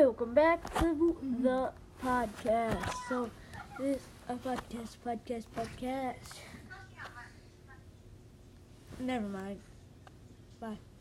welcome back to the podcast. So, this podcast. Never mind. Bye.